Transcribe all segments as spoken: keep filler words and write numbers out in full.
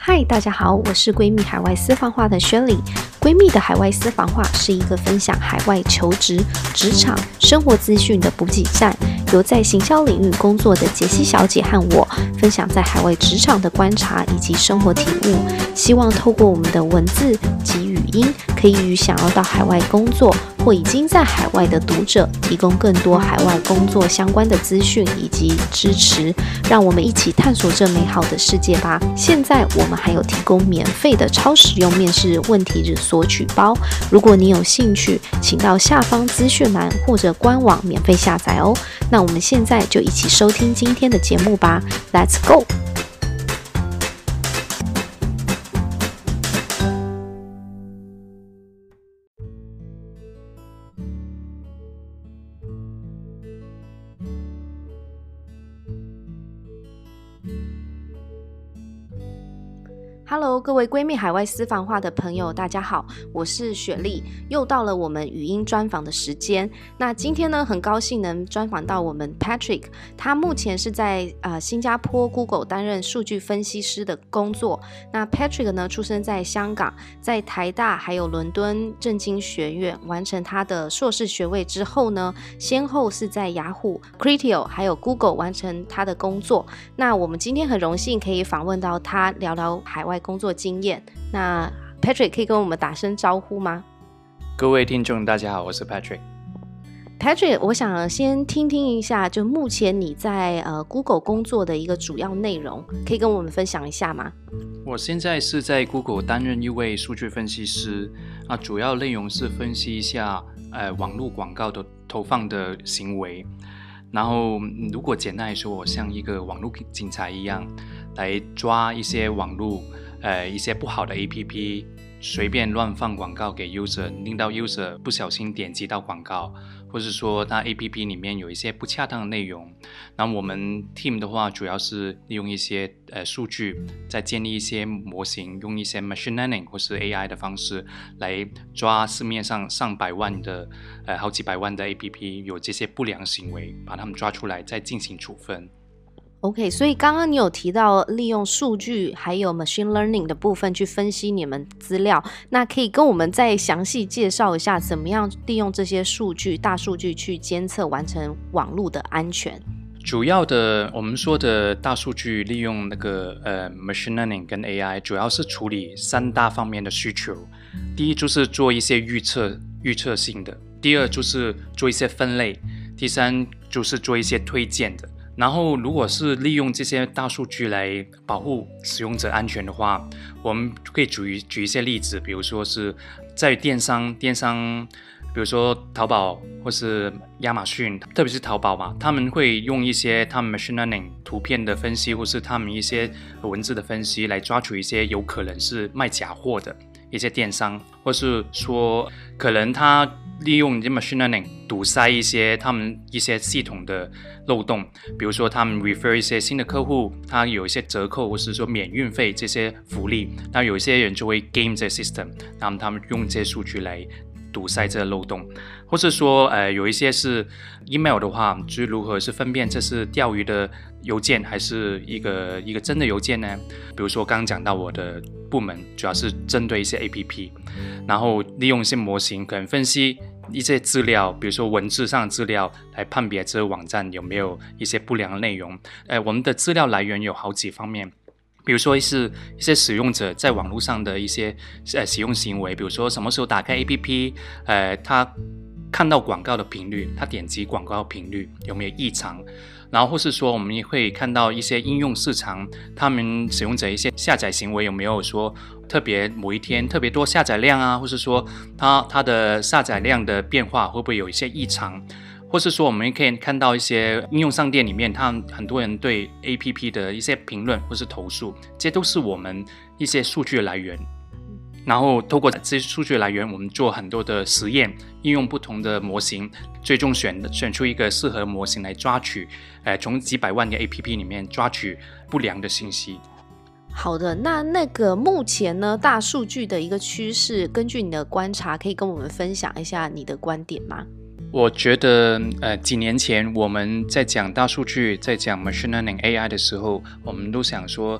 嗨，大家好，我是閨蜜海外私房話的雪莉。閨蜜的海外私房話是一個分享海外求職、職場、生活資訊的補給站，由在行銷領域工作的傑西小姐和我分享在海外職場的觀察以及生活體悟，希望透過我們的文字及語音，可以與想要到海外工作或已經在海外的讀者提供更多海外工作相關的資訊以及支持，讓我們一起探索這美好的世界吧。現在我們還有提供免費的超實用面試問題日索取包，如果你有興趣，請到下方資訊欄或者官網免費下載哦。那我們現在就一起收聽今天的節目吧 ，Let's go！Hello， 各位閨蜜海外私房話的朋友，大家好，我是雪莉，又到了我們語音專訪的時間。那今天呢，很高興能專訪到我們 Patrick， 他目前是在呃新加坡 Google 擔任數據分析師的工作。那 Patrick 呢，出生在香港，在台大還有倫敦政經學院完成他的碩士學位之後呢，先後是在雅虎、Criteo 還有 Google 完成他的工作。那我們今天很榮幸可以訪問到他，聊聊海外工作經驗。那 Patrick 可以跟我們打聲招呼嗎？ 各位聽眾大家好，我是 Patrick。 Patrick， 我想先聽聽一下，就目前你在呃 Google 工作的一個主要內容，可以跟我們分享一下嗎？ 我現在是在 Google 擔任一位數據分析師，啊，主要內容是分析一下呃網絡廣告的投放的行為。然後如果簡單來說，我像一個網絡警察一樣，來抓一些網絡呃一些不好的 A P P 隨便亂放廣告給 user， 令到 user 不小心點擊到廣告，或是說它 A P P 裡面有一些不恰當的內容。那我們 team 的話，主要是利用一些呃數據，再建立一些模型，用一些 machine learning 或是 A I 的方式來抓市面上上百萬的呃好幾百萬的 A P P 有這些不良行為，把它們抓出來，再進行處分。 OK， 所以剛剛你有提到利用數據還有 machine learning 的部分去分析你們資料，那可以跟我們再詳細介紹一下，怎麼樣利用這些數據、大數據去監測完成網絡的安全？ 主要的我們說的大數據利用那個呃 machine learning 跟 A I， 主要是處理三大方面的需求。第一就是做一些預測預測性的，第二就是做一些分類，第三就是做一些推薦的。然後如果是利用這些大數據來保護使用者安全的話，我們可以舉舉一些例子，比如說是在電商電商比如說淘寶或是亞馬遜，特別是淘寶嘛，他們會用一些他們 machine learning 圖片的分析，或是他們一些文字的分析來抓取一些有可能是賣假貨的一些電商，或是說可能他利用 machine learning 堵塞一些他們一些系統的漏洞，比如說他們 refer 一些新的客戶，他有一些折扣或是說免運費這些福利，那有一些人就會 game 這 system， 那麼他們用這些數據來堵塞這個漏洞，或是說呃有一些是 email 的話，就是如何是分辨這是釣魚的郵件還是一個一個真的郵件呢？比如說剛剛講到我的部門主要是針對一些 A P P， 然後利用一些模型可能分析一些資料，比如說文字上的資料來判別這個網站有沒有一些不良的內容。呃，我們的資料來源有好幾方面。比如說是一些使用者在網絡上的一些呃使用行為，比如說什麼時候打開 A P P， 呃，他看到廣告的頻率，他點擊廣告的頻率有沒有異常，然後或是說我們也會看到一些應用市場，他們使用者一些下載行為有沒有說特別某一天特別多下載量啊，或是說他他的下載量的變化會不會有一些異常。或是說我們可以看到一些應用商店裡面，他們很多人對 A P P 的一些評論或是投訴，這些都是我們一些數據的來源。然後透過這些數據來源，我們做很多的實驗，應用不同的模型，最終選選出一個適合模型來抓取，呃，從幾百萬個 A P P 裡面抓取不良的信息。 好的，那那個目前呢，大數據的一個趨勢，根據你的觀察，可以跟我們分享一下你的觀點嗎？ 我覺得呃，幾年前我們在講大數據，在講 machine learning A I 的時候，我們都想說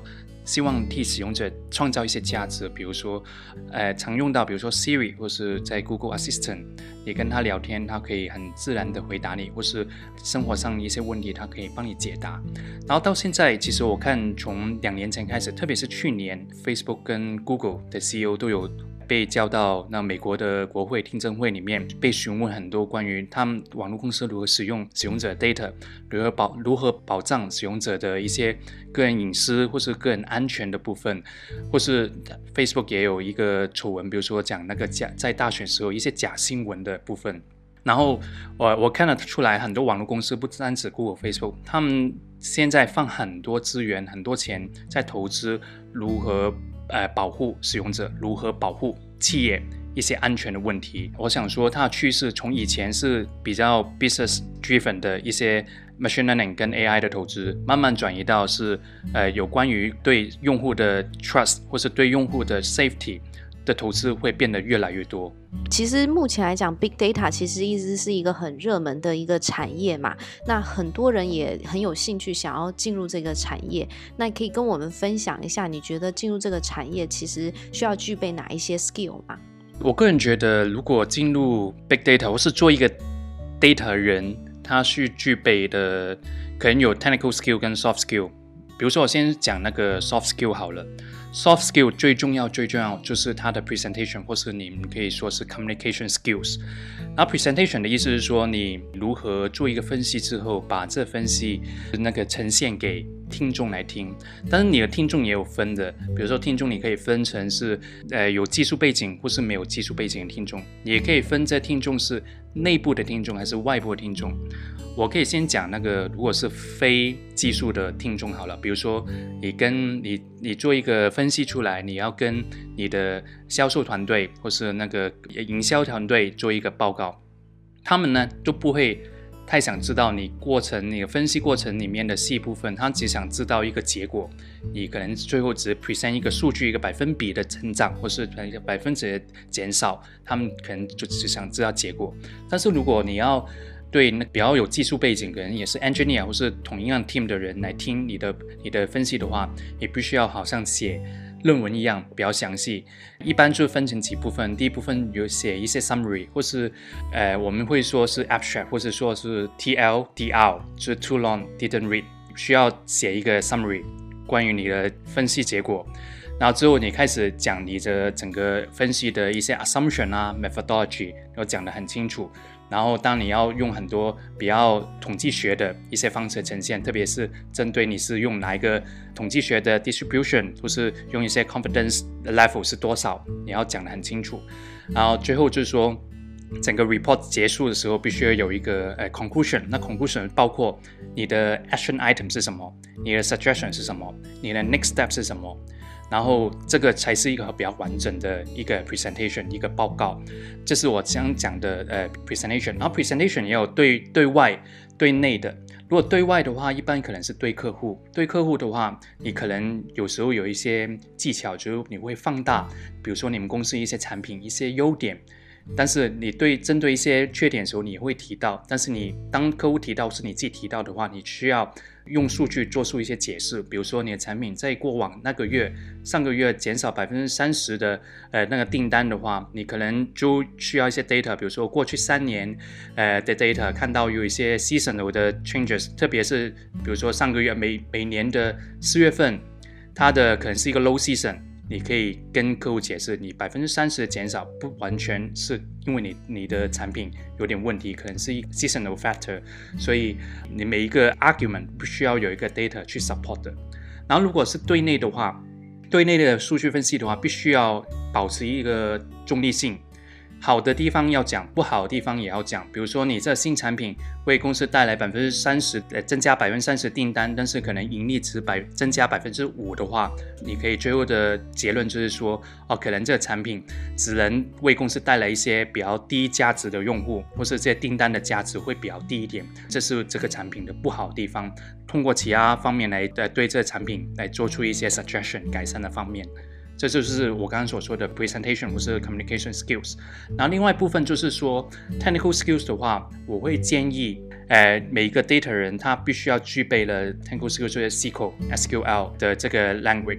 希望替使用者創造一些價值，比如說，呃，常用到，比如說 Siri 或是在 Google Assistant， 你跟他聊天，他可以很自然的回答你，或是生活上一些問題，他可以幫你解答。然後到現在，其實我看從兩年前開始，特別是去年 Facebook 跟 Google 的 C E O 都有被叫到那美國的國會聽證會裡面，被詢問很多關於他們網絡公司如何使用使用者 data， 如何保如何保障使用者的一些個人隱私或是個人安全的部分，或是 Facebook 也有一個醜聞，比如說講那個假在大選時候一些假新聞的部分。然後我我看得出來，很多網絡公司不單止 Google、Facebook， 他們現在放很多資源、很多錢在投資如何呃保護使用者，如何保護企業一些安全的問題。我想說，它的趨勢從以前是比較 business driven 的一些 machine learning 跟 A I 的投資，慢慢轉移到是呃有關於對用戶的 trust 或是對用戶的 safety。的投資會變得越來越多。 其實目前來講 Big Data 其實一直是一個很熱門的一個產業嘛，那很多人也很有興趣想要進入這個產業。那你可以跟我們分享一下，你覺得進入這個產業其實需要具備哪一些 skill 嗎？ 我個人覺得，如果進入 Big Data 或是做一個 data 人，他需具備的可能有 technical skill 跟 soft skill。比如說我先講那個 soft skill 好了。Soft skill 最重要最重要就是它的 presentation， 或是你們可以說是 communication skills。然後 presentation 的意思是說，你如何做一個分析之後，把這分析那個呈現給聽眾來聽。但是你的聽眾也有分的，比如說聽眾你可以分成是呃有技術背景或是沒有技術背景的聽眾，你也可以分這聽眾是內部的聽眾還是外部的聽眾。我可以先講那個，如果是非技術的聽眾好了，比如說你跟你你做一個分析出來，你要跟你的銷售團隊或是那個營銷團隊做一個報告，他們呢就不會太想知道你過程你的分析過程裡面的細部分，他只想知道一個結果，你可能最後只 present 一個數據，一個百分比的成長或是一個百分之的減少，他們可能就只想知道結果。但是如果你要對那比較有技術背景，可能也是 engineer 或是同一樣 team 的人來聽你的你的分析的話，你必須要好像寫論文一樣比較詳細。一般就分成幾部分，第一部分有寫一些 summary， 或是呃我們會說是 abstract， 或是說是 T L D R， 就是 too long didn't read， 需要寫一個 summary 關於你的分析結果。然後之後你開始講你的整個分析的一些 assumption 啊 methodology， 都講得很清楚。然後當你要用很多比較統計學的一些方式呈現，特別是針對你是用哪一個統計學的 distribution， 或是用一些 confidence level 是多少，你要講得很清楚。然後最後就是說，整個 report 結束的時候必須要有一個呃 conclusion， 那 conclusion 包括你的 action item 是什麼，你的 suggestion 是什麼，你的 next step 是什麼。然後這個才是一個比較完整的一個 presentation， 一個報告。這是我想講的呃 presentation。然後 presentation 也有對對外對內的。如果對外的話，一般可能是對客戶。對客戶的話，你可能有時候有一些技巧，就是你會放大，比如說你們公司一些產品一些優點。但是你對針對一些缺點的時候，你會提到。但是你當客戶提到是你自己提到的話，你需要用數據做出一些解釋。比如說你的產品在過往那個月、上個月減少百分之三十的呃那個訂單的話，你可能就需要一些 data。比如說過去三年呃的 data， 看到有一些 seasonal 的 changes， 特別是比如說上個月每每年的四月份，它的可能是一個 low season。你可以跟客戶解釋，你百分之三十的減少不完全是因為你你的產品有點問題，可能是一個 seasonal factor， 所以你每一個 argument 不需要有一個 data 去 support 的。然後如果是對內的話，對內的數據分析的話，必須要保持一個中立性。好的地方要講，不好的地方也要講。比如說，你這新產品為公司帶來百分之三十，呃，增加百分之三十訂單，但是可能盈利只百增加百分之五的話，你可以最後的結論就是說，哦，可能這個產品只能為公司帶來一些比較低價值的用戶，或是這些訂單的價值會比較低一點，這是這個產品的不好的地方。通過其他方面來呃對這個產品來做出一些 suggestion 改善的方面。這就是我剛剛所說的 presentation 或是 communication skills。然後另外一部分就是說 technical skills 的話，我會建議呃每一個 data 人他必須要具備了 technical skills， 就是 S Q L 的這個 language。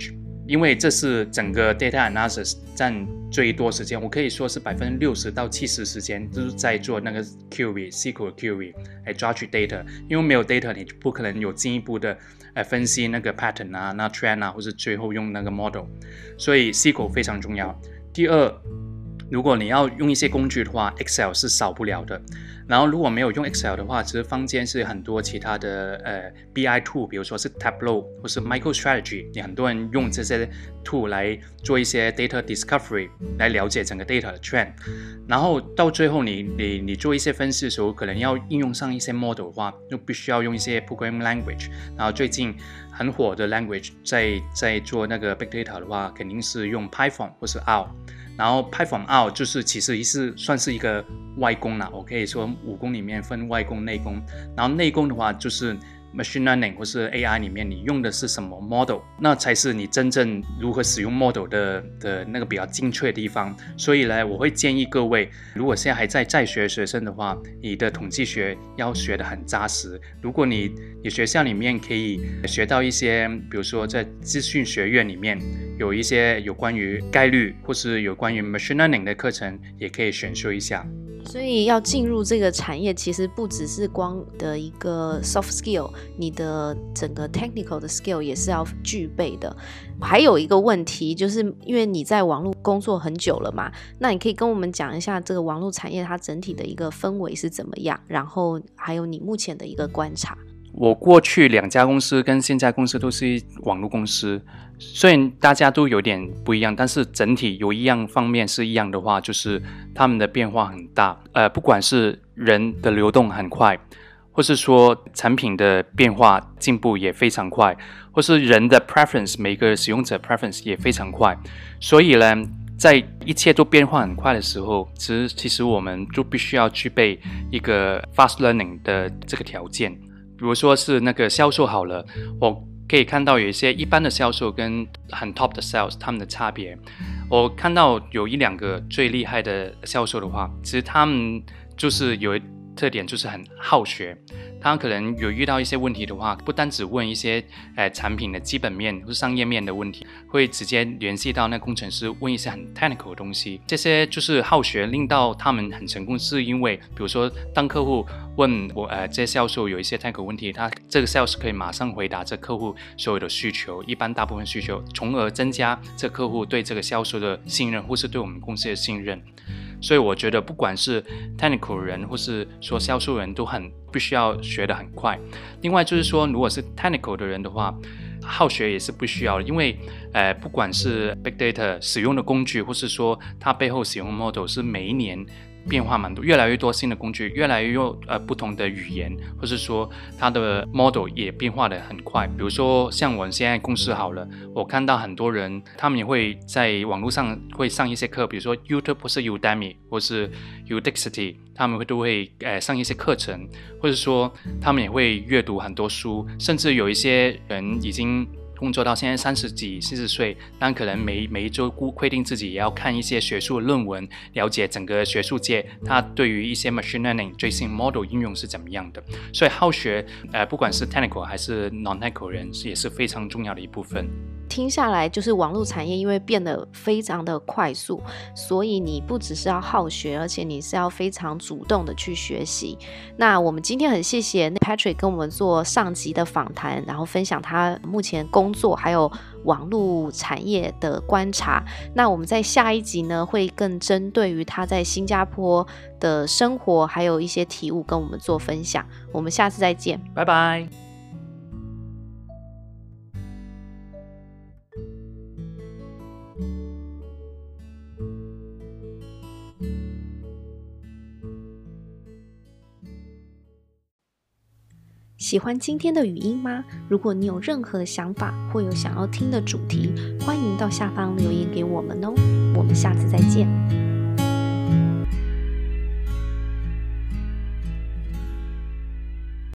因為這是整個 data analysis 佔最多時間，我可以說是百分之六十到七十時間都是在做那個 query、S Q L query 來抓取 data， 因為沒有 data 你不可能有進一步的呃分析那個 pattern 啊、那 trend 啊，或是最後用那個 model， 所以 S Q L 非常重要。第二，如果你要用一些工具的話 ，Excel 是少不了的。然後如果沒有用 Excel 的話，其實坊間是很多其他的呃 B I tool， 比如說是 Tableau 或是 MicroStrategy， 也很多人用這些 tool 來做一些 data discovery， 來了解整個 data 的 trend。然後到最後你你你做一些分析的時候，可能要應用上一些 model 的話，就必須要用一些 programming language。然後最近很火的 language 在在做那個 big data 的話，肯定是用 Python 或是 R。然後 Python R 就是其實是算是一個外功啦，我可以說武功裡面分外功內功。然後內功的話就是 machine learning 或是 A I 裡面你用的是什麼 model， 那才是你真正如何使用 model 的的那個比較精確的地方。所以呢，我會建議各位，如果現在還在在學學生的話，你的統計學要學得很扎實。如果你你學校裡面可以學到一些，比如說在資訊學院裡面有一些有關於概率或是有關於 machine learning 的課程，也可以選修一下。 所以要進入這個產業，其實不只是光的一個 soft skill， 你的整個 technical 的 skill 也是要具備的。還有一個問題，就是因為你在網絡工作很久了嘛，那你可以跟我們講一下這個網絡產業它整體的一個氛圍是怎麼樣，然後還有你目前的一個觀察。 我過去兩家公司跟現在公司都是網絡公司，雖然大家都有點不一樣，但是整體有一樣方面是一樣的話，就是他們的變化很大。呃，不管是人的流動很快，或是說產品的變化進步也非常快，或是人的 preference， 每個使用者 preference 也非常快。所以呢，在一切都變化很快的時候，其實其實我們就必須要具備一個 fast learning 的這個條件。比如說是那個銷售好了，我可以看到有一些一般的銷售跟很 top 的 sales 他們的差別。我看到有一兩個最厲害的銷售的話，其實他們就是有一特點，就是很好學。他可能有遇到一些問題的話，不單只問一些呃產品的基本面或是商業面的問題，會直接聯繫到那工程師問一些很 technical 的東西。這些就是好學，令到他們很成功，是因為比如說當客戶問我呃這些銷售有一些 technical 問題，他這個 sales 可以馬上回答這客戶所有的需求，一般大部分需求，從而增加這客戶對這個銷售的信任，或是對我們公司的信任。所以我覺得不管是 technical 人或是說銷售人都很必須要學得很快。另外就是說，如果是 technical 的人的話，好學也是不需要的，因為呃不管是 big data 使用的工具，或是說它背後使用的 model 是每一年变化蠻多，越來越多新的工具，越來越有呃不同的語言，或是說它的 model 也變化得很快。比如說像我现在公司好了，我看到很多人他們也會在網絡上會上一些課，比如說 YouTube 或是 Udemy 或是 Udacity， 他們會都會呃上一些課程，或者說他們也會閱讀很多書，甚至有一些人已經工作到現在三十幾、四十歲，但可能每每一周規定自己也要看一些學術論文，了解整個學術界它對於一些 machine learning 最新 model 應用是怎麼樣的。所以好學，呃，不管是 technical 還是 non-technical 人，也是非常重要的一部分。 聽下來，就是網絡產業因為變得非常的快速，所以你不只是要好學，而且你是要非常主動的去學習。那我們今天很謝謝 Patrick 跟我們做上集的訪談，然後分享他目前工作還有網絡產業的觀察。那我們在下一集呢，會更針對於他在新加坡的生活還有一些體悟跟我們做分享。我們下次再見， 拜拜。 喜歡今天的語音嗎？如果你有任何想法或有想要聽的主題，歡迎到下方留言給我們哦。我們下次再見。